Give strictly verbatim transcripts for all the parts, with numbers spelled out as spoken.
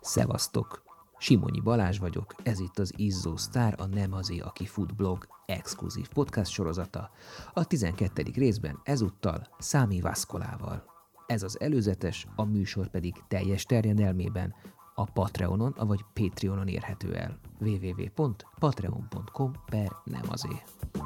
Szevasztok! Simonyi Balázs vagyok, ez itt az Izzó Sztár, a Nem azé, aki fut blog exkluzív podcast sorozata, a tizenkettedik részben ezúttal Számi Vaszkolával. Ez az előzetes, a műsor pedig teljes terjedelmében a Patreonon, vagy Patreonon érhető el. double-u double-u double-u pont patreon pont com per nem azé.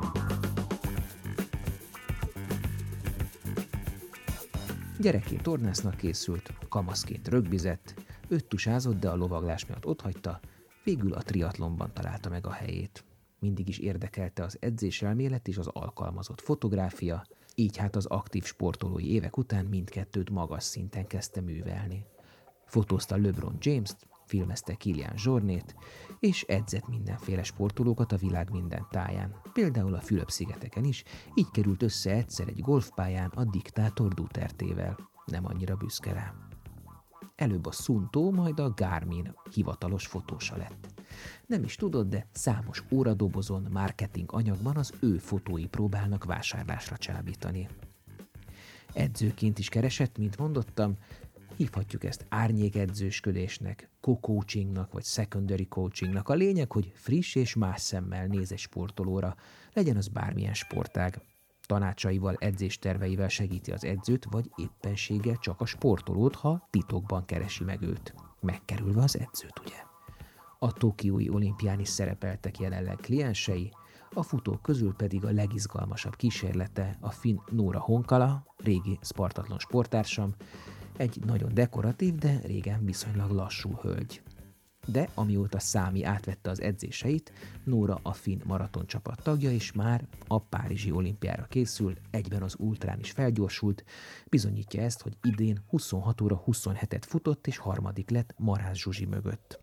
Gyerekként tornásznak készült, kamaszként rögbizett, öttusázott, de a lovaglás miatt otthagyta, végül a triatlonban találta meg a helyét. Mindig is érdekelte az edzéselmélet és az alkalmazott fotográfia, így hát az aktív sportolói évek után mindkettőt magas szinten kezdte művelni. Fotózta LeBron James-t, filmezte Kilian Jornet, és edzett mindenféle sportolókat a világ minden táján, például a Fülöp-szigeteken is, így került össze egyszer egy golfpályán a diktátor Dutertével. Nem annyira büszke rá. Előbb a Suunto, majd a Garmin hivatalos fotósa lett. Nem is tudod, de számos óradobozon, marketing anyagban az ő fotói próbálnak vásárlásra csábítani. Edzőként is keresett, mint mondottam, hívhatjuk ezt árnyékedzősködésnek, co-coachingnak vagy secondary coachingnak. A lényeg, hogy friss és más szemmel néz egy sportolóra, legyen az bármilyen sportág. Tanácsaival, edzésterveivel segíti az edzőt, vagy éppenséggel csak a sportolót, ha titokban keresi meg őt. Megkerülve az edzőt, ugye? A tokiói olimpián is szerepeltek jelenleg kliensei, a futók közül pedig a legizgalmasabb kísérlete a finn Noora Honkala, régi Spartathlon sporttársam, egy nagyon dekoratív, de régen viszonylag lassú hölgy. De amióta Számi átvette az edzéseit, Noora a finn maratoncsapat tagja, és már a párizsi olimpiára készül, egyben az ultrán is felgyorsult, bizonyítja ezt, hogy idén huszonhat óra huszonhetet futott, és harmadik lett Marász Zsuzsi mögött.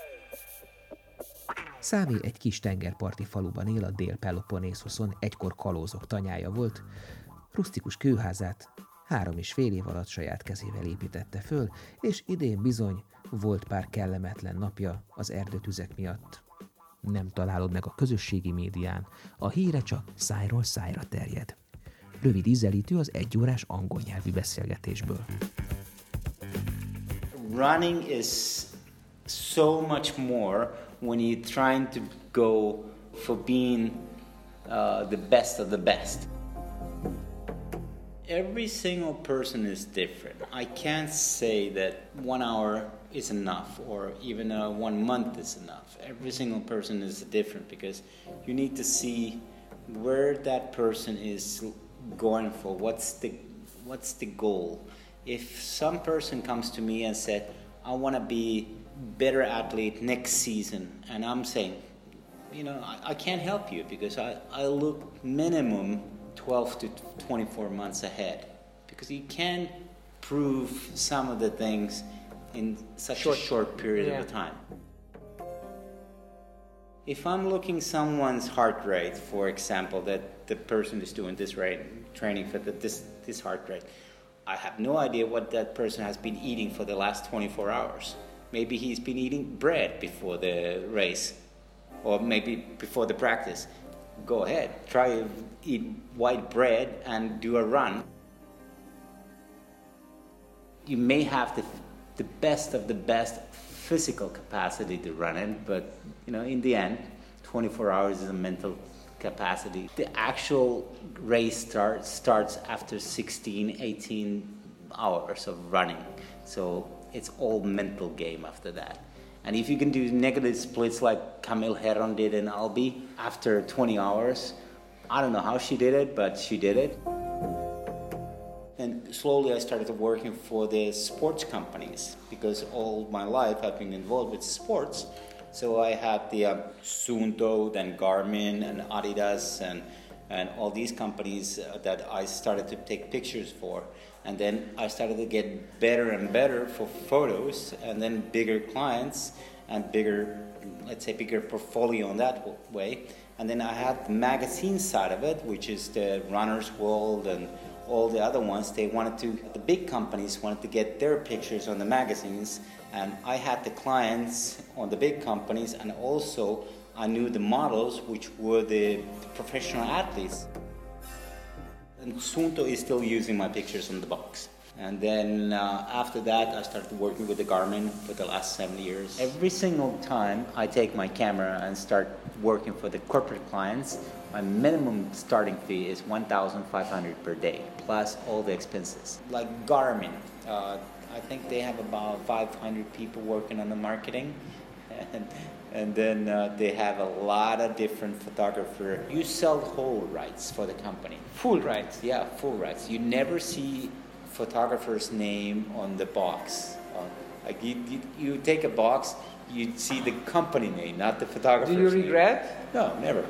Számi egy kis tengerparti faluban él a Dél-Peloponészoszon, egykor kalózok tanyája volt, rusztikus kőházát három és fél év alatt saját kezével építette föl, és idén bizony volt pár kellemetlen napja az erdőtüzek miatt. Nem találod meg a közösségi médián, a híre csak szájról szájra terjed. Rövid ízelítő az egyórás angol nyelvű beszélgetésből. Running is so much more when you're trying to go for being uh, the best of the best. Every single person is different. I can't say that one hour is enough or even uh, one month is enough. Every single person is different because you need to see where that person is going for. What's the what's the goal? If some person comes to me and said, I want to be better athlete next season, and I'm saying, you know, I, I can't help you because I, I look minimum twelve to twenty-four months ahead because you can't prove some of the things in such short, a short period yeah. of time. If I'm looking someone's heart rate, for example, that the person is doing this rate, training for the, this, this heart rate, I have no idea what that person has been eating for the last twenty-four hours. Maybe he's been eating bread before the race or maybe before the practice. Go ahead, try to eat white bread and do a run. You may have the, the best of the best physical capacity to run it, but you know, in the end, twenty-four hours is a mental capacity. The actual race start, starts after sixteen, eighteen hours of running. So it's all mental game after that. And if you can do negative splits like Camille Herron did in Albi after twenty hours, I don't know how she did it, but she did it. And slowly I started working for the sports companies because all my life I've been involved with sports. So I had the uh, Suunto, then Garmin and Adidas and, and all these companies uh, that I started to take pictures for. And then I started to get better and better for photos and then bigger clients and bigger, let's say bigger portfolio in that way. And then I had the magazine side of it, which is the Runner's World and all the other ones. They wanted to, the big companies wanted to get their pictures on the magazines. And I had the clients on the big companies, and also I knew the models, which were the professional athletes. And Suunto is still using my pictures on the box. And then uh, after that, I started working with the Garmin for the last seven years. Every single time I take my camera and start working for the corporate clients, my minimum starting fee is one thousand five hundred dollars per day, plus all the expenses. Like Garmin, uh, I think they have about five hundred people working on the marketing. And, and then uh, they have a lot of different photographers. You sell whole rights for the company. Full rights? Yeah, full rights. You never see photographer's name on the box. Uh, like you, you, you take a box, you see the company name, not the photographer's name. Do you regret? Name. No, never.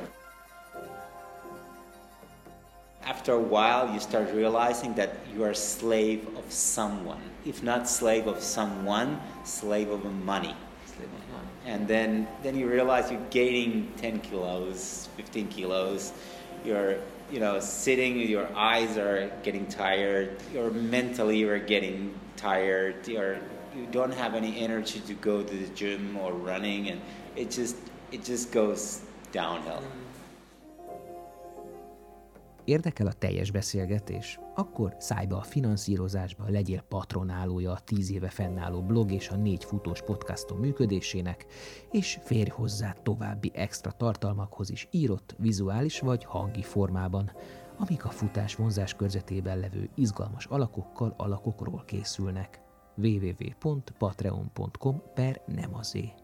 After a while, you start realizing that you are a slave of someone. If not slave of someone, slave of money. And then, then you realize you're gaining ten kilos, fifteen kilos. You're, you know, sitting, your eyes are getting tired. You're mentally, you're getting tired. You're, you don't have any energy to go to the gym or running, and it just, it just goes downhill. Érdekel a teljes beszélgetés? Akkor szállj be a finanszírozásba, legyél patronálója a tíz éve fennálló blog és a négy futós podcastom működésének, és férj hozzá további extra tartalmakhoz is írott, vizuális vagy hangi formában, amik a futás vonzás körzetében levő izgalmas alakokkal alakokról készülnek. double-u double-u double-u pont patreon pont com per nem azé